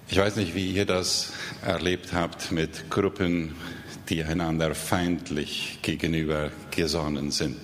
Ich weiß nicht, wie ihr das erlebt habt mit Gruppen, die einander feindlich gegenüber gesonnen sind.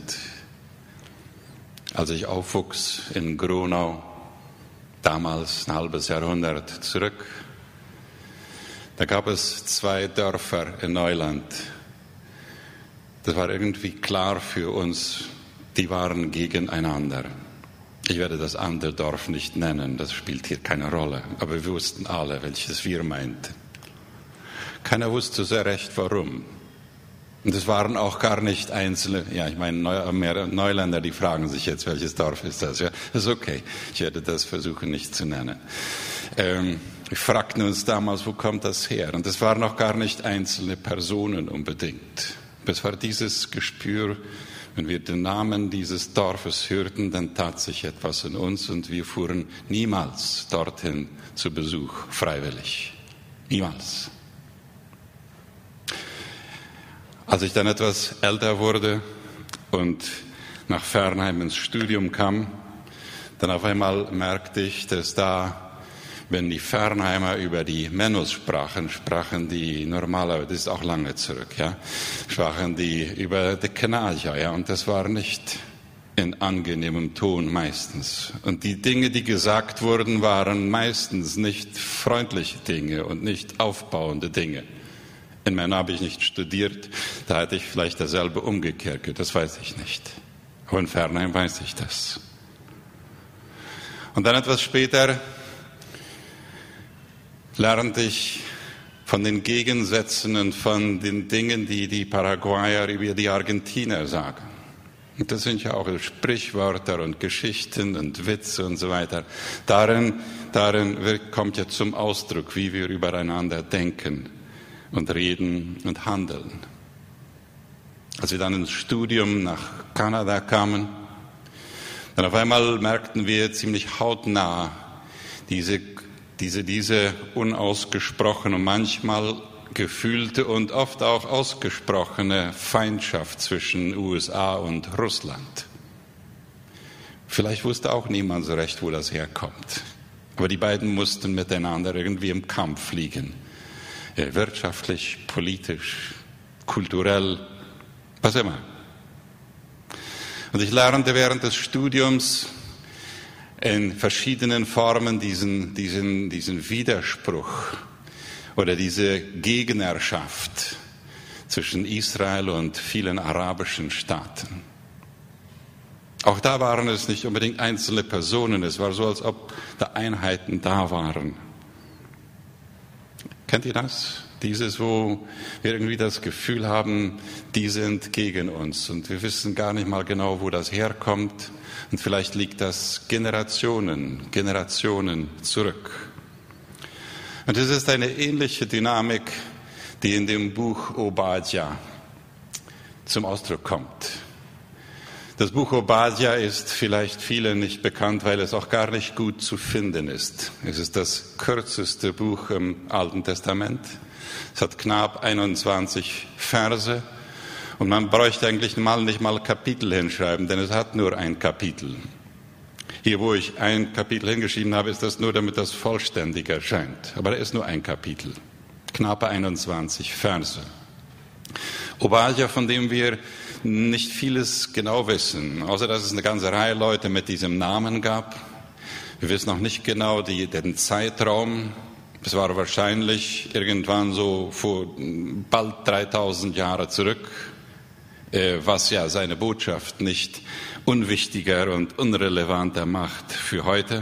Als ich aufwuchs in Gronau, damals ein halbes Jahrhundert zurück, da gab es 2 Dörfer in Neuland. Das war irgendwie klar für uns, die waren gegeneinander. Ich werde das andere Dorf nicht nennen, das spielt hier keine Rolle. Aber wir wussten alle, welches wir meinten. Keiner wusste sehr recht, warum. Und es waren auch gar nicht einzelne, ja, ich meine, Neuländer, die fragen sich jetzt, welches Dorf ist das? Ja, das ist okay. Ich werde das versuchen, nicht zu nennen. Wir fragten uns damals, wo kommt das her? Und es waren auch gar nicht einzelne Personen unbedingt. Es war dieses Gespür, wenn wir den Namen dieses Dorfes hörten, dann tat sich etwas in uns und wir fuhren niemals dorthin zu Besuch, freiwillig. Niemals. Als ich dann etwas älter wurde und nach Fernheim ins Studium kam, dann auf einmal merkte ich, dass da, wenn die Fernheimer über die Mennos sprachen die normalerweise, das ist auch lange zurück, ja, sprachen die über die Kanadier, ja, und das war nicht in angenehmem Ton meistens. Und die Dinge, die gesagt wurden, waren meistens nicht freundliche Dinge und nicht aufbauende Dinge. In Männer habe ich nicht studiert, da hätte ich vielleicht dasselbe umgekehrt, das weiß ich nicht. Aber in Fernheim weiß ich das. Und dann etwas später lernte ich von den Gegensätzen und von den Dingen, die die Paraguayer über die Argentinier sagen. Und das sind ja auch Sprichwörter und Geschichten und Witze und so weiter. Darin kommt ja zum Ausdruck, wie wir übereinander denken und reden und handeln. Als wir dann ins Studium nach Kanada kamen, dann auf einmal merkten wir ziemlich hautnah diese unausgesprochene, manchmal gefühlte und oft auch ausgesprochene Feindschaft zwischen USA und Russland. Vielleicht wusste auch niemand so recht, wo das herkommt. Aber die beiden mussten miteinander irgendwie im Kampf liegen. Wirtschaftlich, politisch, kulturell, was immer. Und ich lernte während des Studiums in verschiedenen Formen diesen Widerspruch oder diese Gegnerschaft zwischen Israel und vielen arabischen Staaten. Auch da waren es nicht unbedingt einzelne Personen, es war so, als ob da Einheiten da waren. Kennt ihr das? Dieses, wo wir irgendwie das Gefühl haben, die sind gegen uns und wir wissen gar nicht mal genau, wo das herkommt. Und vielleicht liegt das Generationen zurück. Und es ist eine ähnliche Dynamik, die in dem Buch Obadja zum Ausdruck kommt. Das Buch Obadja ist vielleicht vielen nicht bekannt, weil es auch gar nicht gut zu finden ist. Es ist das kürzeste Buch im Alten Testament. Es hat knapp 21 Verse. Und man bräuchte eigentlich nicht mal Kapitel hinschreiben, denn es hat nur ein Kapitel. Hier, wo ich ein Kapitel hingeschrieben habe, ist das nur, damit das vollständig erscheint. Aber da ist nur ein Kapitel. Knappe 21 Verse. Obadja, von dem wir nicht vieles genau wissen, außer dass es eine ganze Reihe Leute mit diesem Namen gab. Wir wissen noch nicht genau den Zeitraum. Es war wahrscheinlich irgendwann so vor bald 3000 Jahre zurück, was ja seine Botschaft nicht unwichtiger und unrelevanter macht für heute.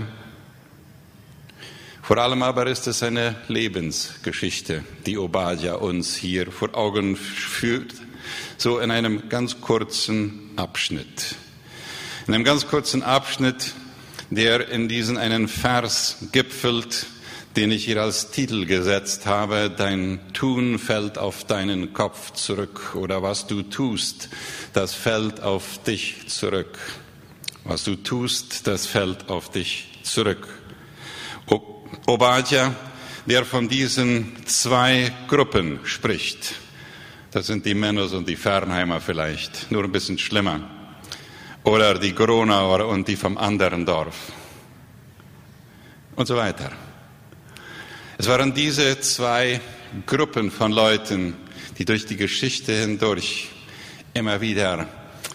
Vor allem aber ist es eine Lebensgeschichte, die Obadja uns hier vor Augen führt, so in einem ganz kurzen Abschnitt. In einem ganz kurzen Abschnitt, der in diesen einen Vers gipfelt, den ich hier als Titel gesetzt habe: Dein Tun fällt auf deinen Kopf zurück, oder was du tust, das fällt auf dich zurück. Was du tust, das fällt auf dich zurück. Obadja, der von diesen 2 Gruppen spricht. Das sind die Mennos und die Fernheimer vielleicht, nur ein bisschen schlimmer. Oder die Gronauer und die vom anderen Dorf. Und so weiter. Es waren diese zwei Gruppen von Leuten, die durch die Geschichte hindurch immer wieder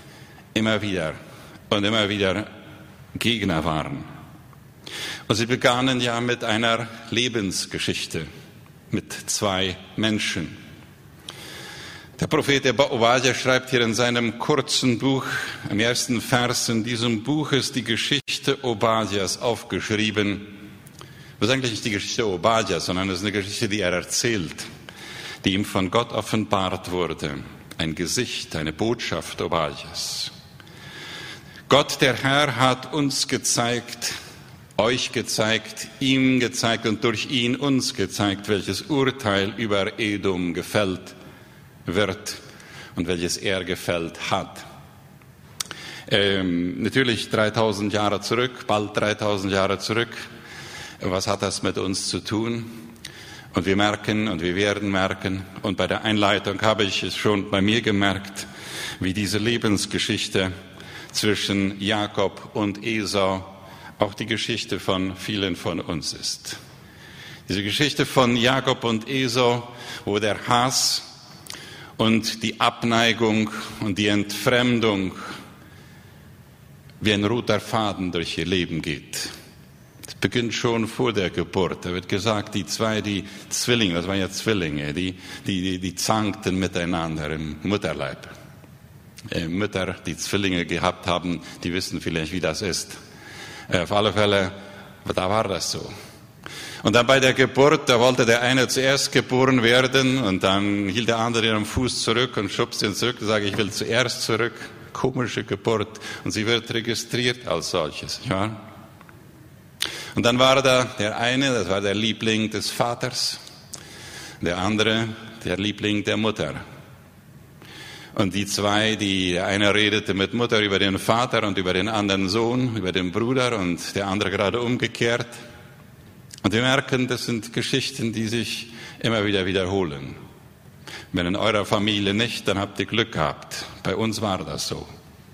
Gegner waren. Und sie begannen ja mit einer Lebensgeschichte, mit zwei Menschen. Der Prophet Obadja schreibt hier in seinem kurzen Buch, im ersten Vers in diesem Buch ist die Geschichte Obadjas aufgeschrieben. Das ist eigentlich nicht die Geschichte Obadjas, sondern es ist eine Geschichte, die er erzählt, die ihm von Gott offenbart wurde. Ein Gesicht, eine Botschaft Obadjas. Gott, der Herr, hat uns gezeigt, euch gezeigt, ihm gezeigt und durch ihn uns gezeigt, welches Urteil über Edom gefällt wird und welches er gefällt hat. Natürlich 3000 Jahre zurück, bald 3000 Jahre zurück. Was hat das mit uns zu tun? Und wir merken und wir werden merken, und bei der Einleitung habe ich es schon bei mir gemerkt, wie diese Lebensgeschichte zwischen Jakob und Esau auch die Geschichte von vielen von uns ist. Diese Geschichte von Jakob und Esau, wo der Hass und die Abneigung und die Entfremdung wie ein roter Faden durch ihr Leben geht. Es beginnt schon vor der Geburt. Da wird gesagt, die Zwillinge, das waren ja Zwillinge, die zankten miteinander im Mutterleib. Mütter, die Zwillinge gehabt haben, die wissen vielleicht, wie das ist. Auf alle Fälle, da war das so. Und dann bei der Geburt, da wollte der eine zuerst geboren werden und dann hielt der andere ihren Fuß zurück und schubste ihn zurück und sagte, ich will zuerst zurück. Komische Geburt. Und sie wird registriert als solches. Ja? Und dann war da der eine, das war der Liebling des Vaters, der andere, der Liebling der Mutter. Und die zwei, der eine redete mit Mutter über den Vater und über den anderen Sohn, über den Bruder und der andere gerade umgekehrt. Und wir merken, das sind Geschichten, die sich immer wieder wiederholen. Wenn in eurer Familie nicht, dann habt ihr Glück gehabt. Bei uns war das so.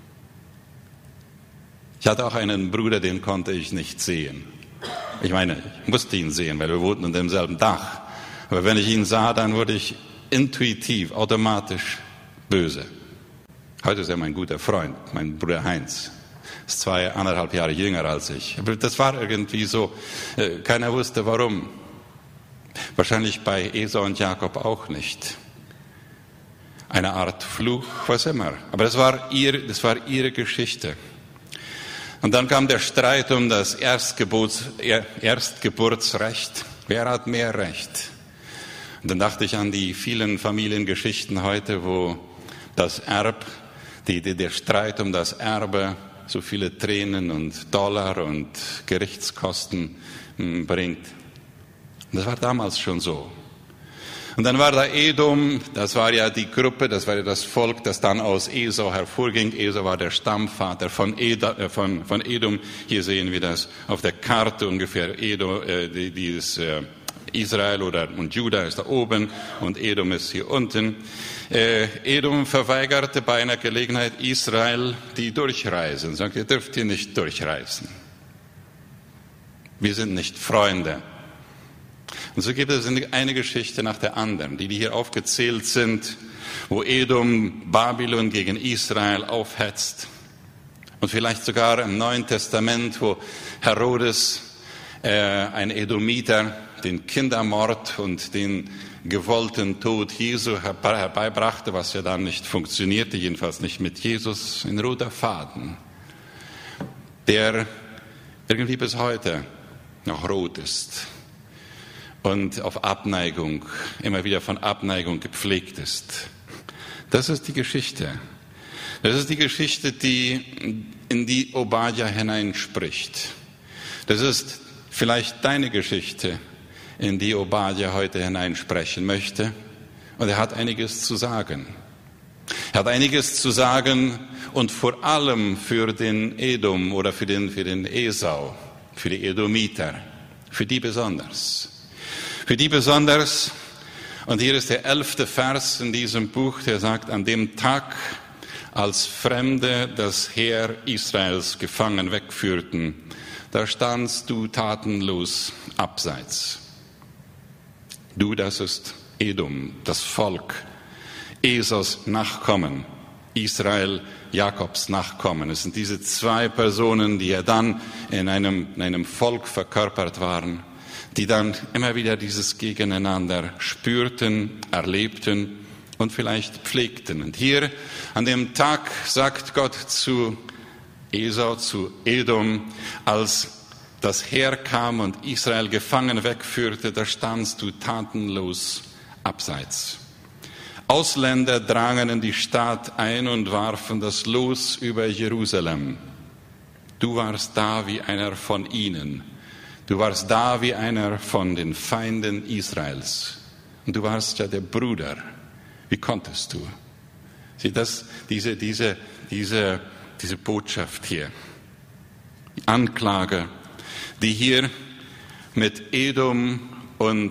Ich hatte auch einen Bruder, den konnte ich nicht sehen. Ich meine, ich musste ihn sehen, weil wir wohnten unter demselben Dach. Aber wenn ich ihn sah, dann wurde ich intuitiv, automatisch böse. Heute ist er mein guter Freund, mein Bruder Heinz. Ist 2,5 Jahre jünger als ich. Aber das war irgendwie so, keiner wusste warum. Wahrscheinlich bei Esau und Jakob auch nicht. Eine Art Fluch, was immer. Aber das war ihre Geschichte. Und dann kam der Streit um das Erstgeburtsrecht. Wer hat mehr Recht? Und dann dachte ich an die vielen Familiengeschichten heute, wo das der Streit um das Erbe so viele Tränen und Dollar und Gerichtskosten bringt. Und das war damals schon so. Und dann war da Edom, das war ja die Gruppe, das war ja das Volk, das dann aus Esau hervorging. Esau war der Stammvater von Edom. Hier sehen wir das auf der Karte ungefähr. Israel und Juda ist da oben und Edom ist hier unten. Edom verweigerte bei einer Gelegenheit Israel die Durchreisen. Sagt, ihr dürft hier nicht durchreisen. Wir sind nicht Freunde. Und so gibt es eine Geschichte nach der anderen, die hier aufgezählt sind, wo Edom Babylon gegen Israel aufhetzt. Und vielleicht sogar im Neuen Testament, wo Herodes, ein Edomiter, den Kindermord und den gewollten Tod Jesu herbeibrachte, was ja dann nicht funktionierte, jedenfalls nicht mit Jesus, ein roter Faden, der irgendwie bis heute noch rot ist und auf Abneigung, immer wieder von Abneigung gepflegt ist. Das ist die Geschichte. Das ist die Geschichte, die in die Obadja hineinspricht. Das ist vielleicht deine Geschichte, in die Obadja heute hineinsprechen möchte. Und er hat einiges zu sagen. Er hat einiges zu sagen und vor allem für den Edom oder für den Esau, für die Edomiter, für die besonders. Für die besonders, und hier ist der 11. Vers in diesem Buch, der sagt, an dem Tag, als Fremde das Heer Israels gefangen wegführten, da standst du tatenlos abseits. Du, das ist Edom, das Volk, Esaus Nachkommen, Israel, Jakobs Nachkommen. Es sind diese zwei Personen, die ja dann in einem Volk verkörpert waren, die dann immer wieder dieses Gegeneinander spürten, erlebten und vielleicht pflegten. Und hier an dem Tag sagt Gott zu Esau, zu Edom, als das Heer kam und Israel gefangen wegführte, da standst du tatenlos abseits. Ausländer drangen in die Stadt ein und warfen das Los über Jerusalem. Du warst da wie einer von ihnen. Du warst da wie einer von den Feinden Israels. Und du warst ja der Bruder. Wie konntest du? Sieh, diese Botschaft hier. Die Anklage, die hier mit Edom und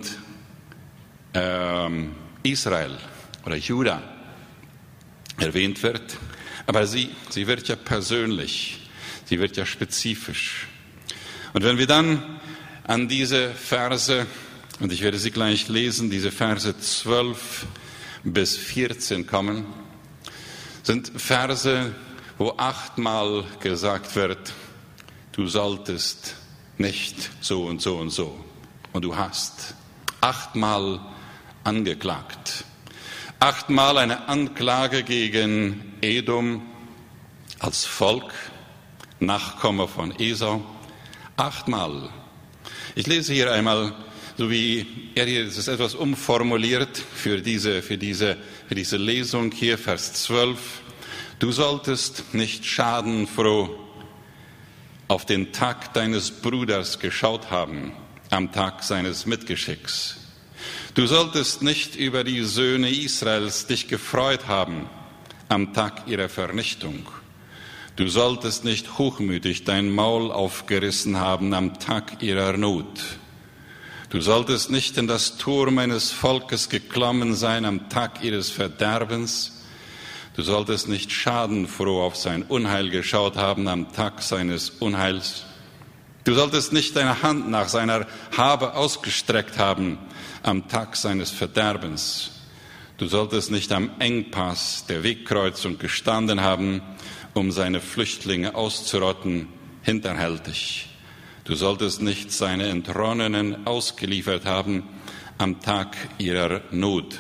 Israel oder Juda erwähnt wird. Aber sie wird ja persönlich, sie wird ja spezifisch. Und wenn wir dann an diese Verse, und ich werde sie gleich lesen, diese Verse 12 bis 14 kommen, sind Verse, wo 8-mal gesagt wird, du solltest nicht so und so und so. Und du hast 8-mal angeklagt. 8-mal eine Anklage gegen Edom als Volk, Nachkomme von Esau. 8-mal. Ich lese hier einmal, so wie er hier, es ist etwas umformuliert für diese Lesung hier, Vers 12. Du solltest nicht schadenfroh auf den Tag deines Bruders geschaut haben, am Tag seines Mitgeschicks. Du solltest nicht über die Söhne Israels dich gefreut haben, am Tag ihrer Vernichtung. Du solltest nicht hochmütig dein Maul aufgerissen haben am Tag ihrer Not. Du solltest nicht in das Tor meines Volkes geklommen sein am Tag ihres Verderbens. Du solltest nicht schadenfroh auf sein Unheil geschaut haben am Tag seines Unheils. Du solltest nicht deine Hand nach seiner Habe ausgestreckt haben am Tag seines Verderbens. Du solltest nicht am Engpass der Wegkreuzung gestanden haben, um seine Flüchtlinge auszurotten, hinterhältig. Du solltest nicht seine Entronnenen ausgeliefert haben am Tag ihrer Not.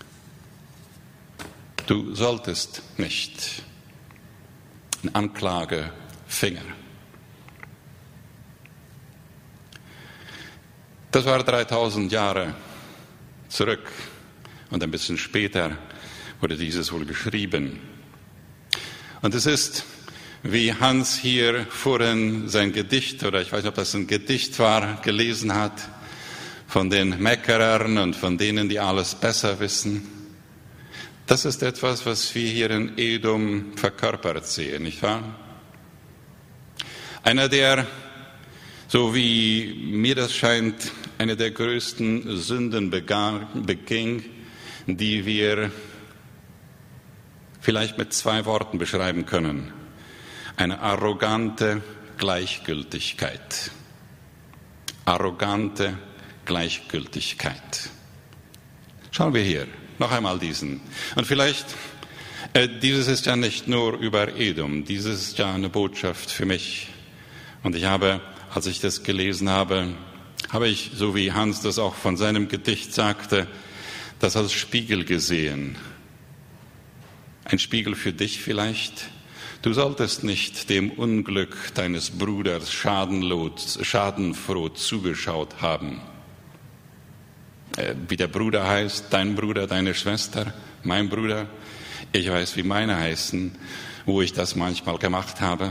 Du solltest nicht. Ein Anklagefinger. Das war 3000 Jahre zurück und ein bisschen später wurde dieses wohl geschrieben. Und es ist, wie Hans hier vorhin sein Gedicht, oder ich weiß nicht, ob das ein Gedicht war, gelesen hat, von den Meckerern und von denen, die alles besser wissen. Das ist etwas, was wir hier in Edom verkörpert sehen, nicht wahr? Einer, der, so wie mir das scheint, eine der größten Sünden beging, die wir vielleicht mit 2 Worten beschreiben können. Eine arrogante Gleichgültigkeit. Arrogante Gleichgültigkeit. Schauen wir hier noch einmal diesen. Und vielleicht, dieses ist ja nicht nur über Edom, dieses ist ja eine Botschaft für mich. Und ich habe, als ich das gelesen habe ich, so wie Hans das auch von seinem Gedicht sagte, das als Spiegel gesehen. Ein Spiegel für dich vielleicht. Du solltest nicht dem Unglück deines Bruders schadenfroh zugeschaut haben. Wie der Bruder heißt, dein Bruder, deine Schwester, mein Bruder. Ich weiß, wie meine heißen, wo ich das manchmal gemacht habe.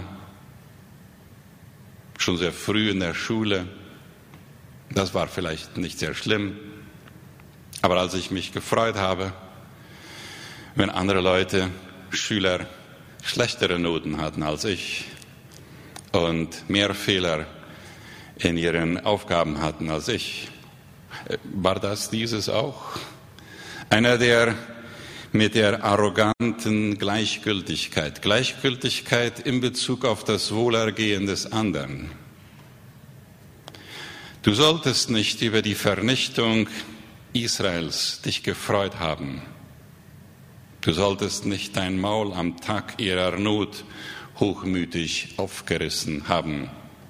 Schon sehr früh in der Schule. Das war vielleicht nicht sehr schlimm. Aber als ich mich gefreut habe, wenn andere Leute, Schüler, schlechtere Noten hatten als ich und mehr Fehler in ihren Aufgaben hatten als ich, war das dieses auch? Einer, der mit der arroganten Gleichgültigkeit in Bezug auf das Wohlergehen des anderen. Du solltest nicht über die Vernichtung Israels dich gefreut haben. Du solltest nicht dein Maul am Tag ihrer Not hochmütig aufgerissen haben.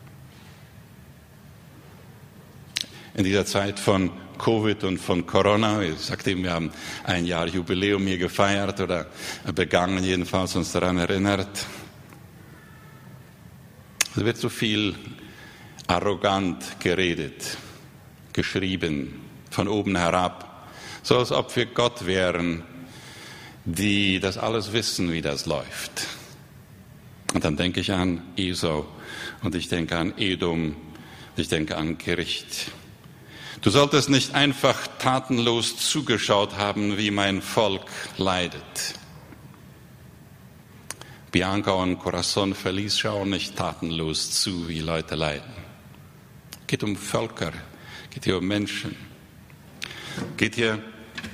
In dieser Zeit von Covid und von Corona, ich sagte ihm, wir haben ein Jahr Jubiläum hier gefeiert oder begangen, jedenfalls uns daran erinnert. Es wird so viel arrogant geredet, geschrieben, von oben herab, so als ob wir Gott wären, die das alles wissen, wie das läuft. Und dann denke ich an Esau und ich denke an Edom, ich denke an Gericht. Du solltest nicht einfach tatenlos zugeschaut haben, wie mein Volk leidet. Bianca und Corazon Feliz schauen nicht tatenlos zu, wie Leute leiden. Es geht um Völker, es geht hier um Menschen. Es geht hier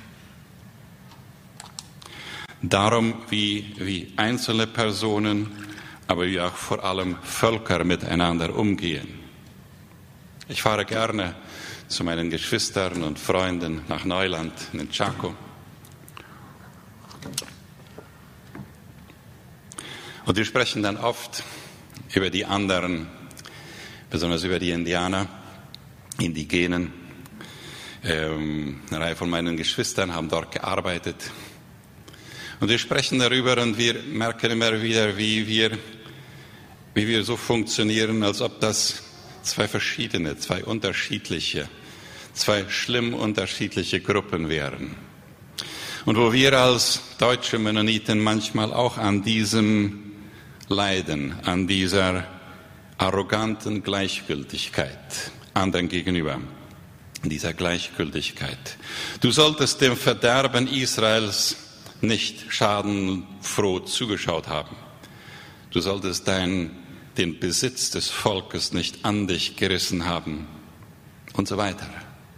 darum, wie einzelne Personen, aber wie auch vor allem Völker miteinander umgehen. Ich fahre gerne zu meinen Geschwistern und Freunden nach Neuland, in Chaco. Und wir sprechen dann oft über die anderen, besonders über die Indianer, Indigenen. Eine Reihe von meinen Geschwistern haben dort gearbeitet. Und wir sprechen darüber und wir merken immer wieder, wie wir so funktionieren, als ob das zwei unterschiedliche, zwei schlimm unterschiedliche Gruppen wären. Und wo wir als deutsche Mennoniten manchmal auch an diesem leiden, an dieser arroganten Gleichgültigkeit anderen gegenüber, dieser Gleichgültigkeit. Du solltest dem Verderben Israels nicht schadenfroh zugeschaut haben. Du solltest den Besitz des Volkes nicht an dich gerissen haben und so weiter.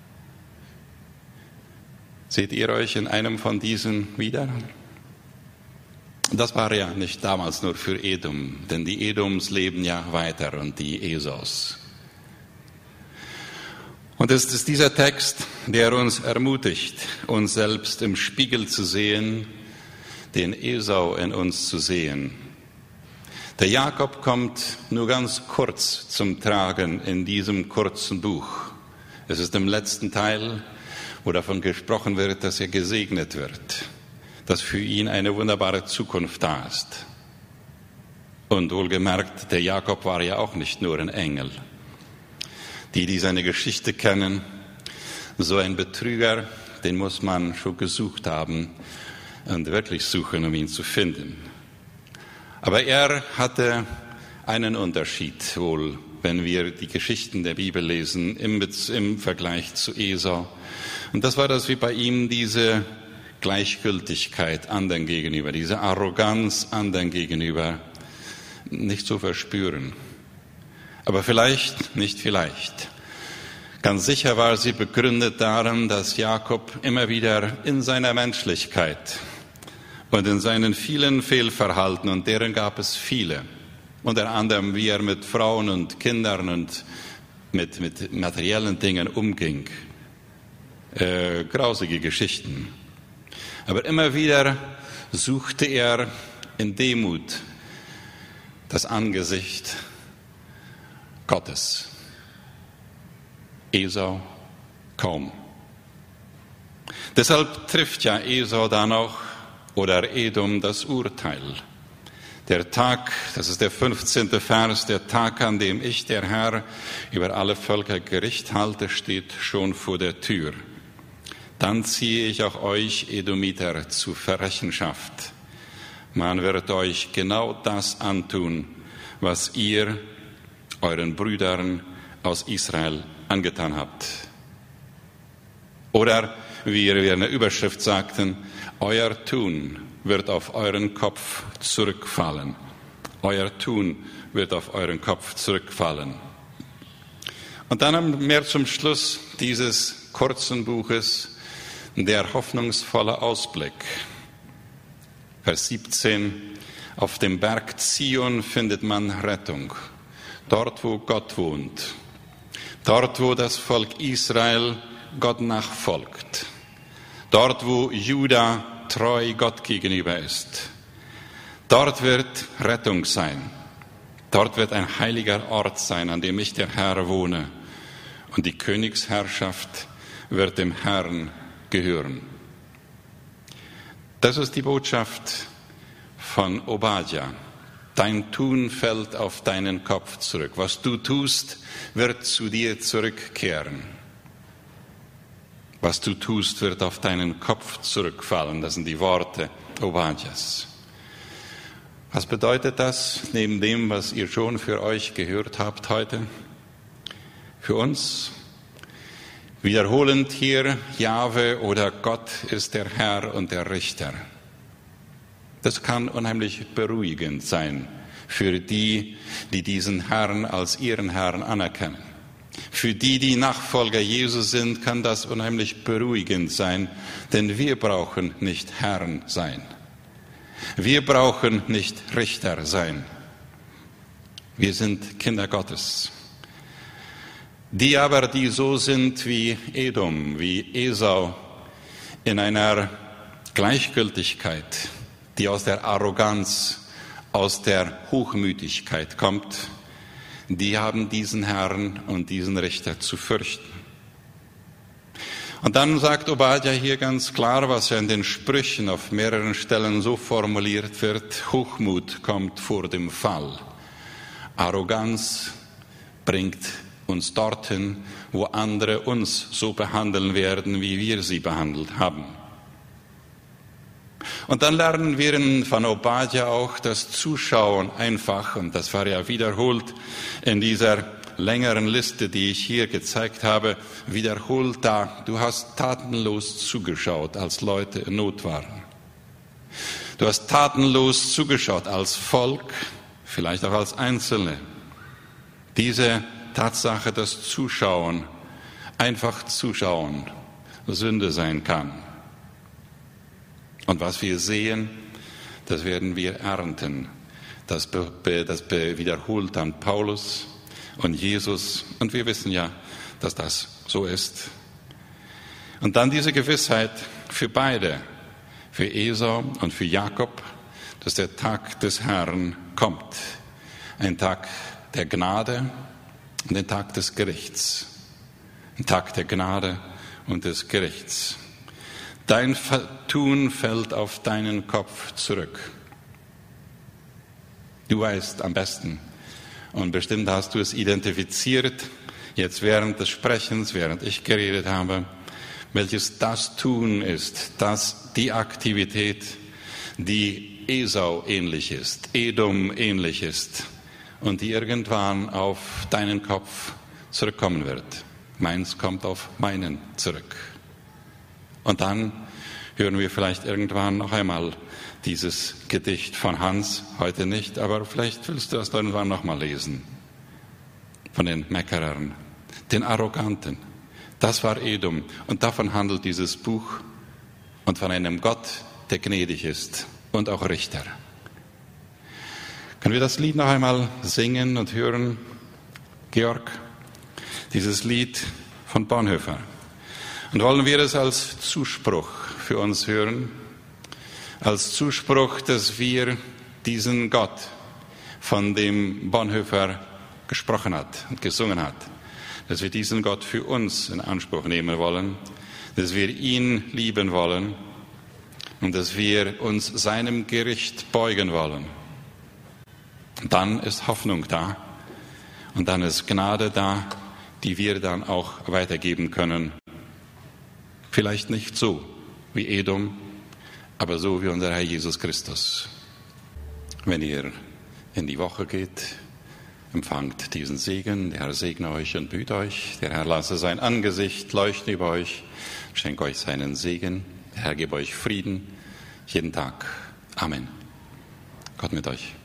Seht ihr euch in einem von diesen wieder? Das war ja nicht damals nur für Edom, denn die Edoms leben ja weiter und die Esaus. Und es ist dieser Text, der uns ermutigt, uns selbst im Spiegel zu sehen, den Esau in uns zu sehen. Der Jakob kommt nur ganz kurz zum Tragen in diesem kurzen Buch. Es ist im letzten Teil, wo davon gesprochen wird, dass er gesegnet wird, dass für ihn eine wunderbare Zukunft da ist. Und wohlgemerkt, der Jakob war ja auch nicht nur ein Engel. Die seine Geschichte kennen, so ein Betrüger, den muss man schon gesucht haben und wirklich suchen, um ihn zu finden. Aber er hatte einen Unterschied wohl, wenn wir die Geschichten der Bibel lesen, im Vergleich zu Esau. Und das war das wie bei ihm diese Gleichgültigkeit anderen gegenüber, diese Arroganz anderen gegenüber nicht zu verspüren. Aber nicht vielleicht. Ganz sicher war sie begründet darin, dass Jakob immer wieder in seiner Menschlichkeit und in seinen vielen Fehlverhalten, und deren gab es viele, unter anderem wie er mit Frauen und Kindern und mit materiellen Dingen umging, grausige Geschichten. Aber immer wieder suchte er in Demut das Angesicht Gottes. Esau kaum. Deshalb trifft ja Esau dann auch oder Edom das Urteil. Der Tag, das ist der 15. Vers, der Tag, an dem ich, der Herr, über alle Völker Gericht halte, steht schon vor der Tür. Dann ziehe ich auch euch, Edomiter, zur Rechenschaft. Man wird euch genau das antun, was ihr euren Brüdern aus Israel angetan habt. Oder, wie wir in der Überschrift sagten, euer Tun wird auf euren Kopf zurückfallen. Euer Tun wird auf euren Kopf zurückfallen. Und dann mehr zum Schluss dieses kurzen Buches der hoffnungsvolle Ausblick. Vers 17. Auf dem Berg Zion findet man Rettung. Dort, wo Gott wohnt. Dort, wo das Volk Israel Gott nachfolgt, dort wo Juda treu Gott gegenüber ist, dort wird Rettung sein. Dort wird ein heiliger Ort sein, an dem ich, der Herr, wohne. Und die Königsherrschaft wird dem Herrn gehören. Das ist die Botschaft von Obadja. Dein Tun fällt auf deinen Kopf zurück. Was du tust, wird zu dir zurückkehren. Was du tust, wird auf deinen Kopf zurückfallen. Das sind die Worte Obadjas. Was bedeutet das, neben dem, was ihr schon für euch gehört habt heute? Für uns wiederholend hier, Jahwe oder Gott ist der Herr und der Richter. Das kann unheimlich beruhigend sein für die, die diesen Herrn als ihren Herrn anerkennen. Für die, die Nachfolger Jesu sind, kann das unheimlich beruhigend sein, denn wir brauchen nicht Herrn sein. Wir brauchen nicht Richter sein. Wir sind Kinder Gottes. Die aber, die so sind wie Edom, wie Esau, in einer Gleichgültigkeit, die aus der Arroganz, aus der Hochmütigkeit kommt, die haben diesen Herrn und diesen Richter zu fürchten. Und dann sagt Obadja hier ganz klar, was ja in den Sprüchen auf mehreren Stellen so formuliert wird: Hochmut kommt vor dem Fall. Arroganz bringt uns dorthin, wo andere uns so behandeln werden, wie wir sie behandelt haben. Und dann lernen wir von Obadja auch das Zuschauen einfach, und das war ja wiederholt in dieser längeren Liste, die ich hier gezeigt habe, wiederholt da: Du hast tatenlos zugeschaut, als Leute in Not waren. Du hast tatenlos zugeschaut als Volk, vielleicht auch als Einzelne. Diese Tatsache, dass Zuschauen, einfach Zuschauen, Sünde sein kann. Und was wir sehen, das werden wir ernten. Das wiederholt dann Paulus und Jesus. Und wir wissen ja, dass das so ist. Und dann diese Gewissheit für beide, für Esau und für Jakob, dass der Tag des Herrn kommt. Ein Tag der Gnade und ein Tag des Gerichts. Ein Tag der Gnade und des Gerichts. Dein Tun fällt auf deinen Kopf zurück. Du weißt am besten, und bestimmt hast du es identifiziert, jetzt während des Sprechens, während ich geredet habe, welches das Tun ist, das die Aktivität, die Esau ähnlich ist, Edom ähnlich ist und die irgendwann auf deinen Kopf zurückkommen wird. Meins kommt auf meinen zurück. Und dann hören wir vielleicht irgendwann noch einmal dieses Gedicht von Hans, heute nicht, aber vielleicht willst du das irgendwann noch mal lesen. Von den Meckerern, den Arroganten. Das war Edom und davon handelt dieses Buch und von einem Gott, der gnädig ist und auch Richter. Können wir das Lied noch einmal singen und hören, Georg? Dieses Lied von Bonhoeffer. Und wollen wir es als Zuspruch für uns hören, als Zuspruch, dass wir diesen Gott, von dem Bonhoeffer gesprochen hat und gesungen hat, dass wir diesen Gott für uns in Anspruch nehmen wollen, dass wir ihn lieben wollen und dass wir uns seinem Gericht beugen wollen. Und dann ist Hoffnung da und dann ist Gnade da, die wir dann auch weitergeben können. Vielleicht nicht so wie Edom, aber so wie unser Herr Jesus Christus. Wenn ihr in die Woche geht, empfangt diesen Segen. Der Herr segne euch und behüte euch. Der Herr lasse sein Angesicht leuchten über euch, schenke euch seinen Segen. Der Herr gebe euch Frieden jeden Tag. Amen. Gott mit euch.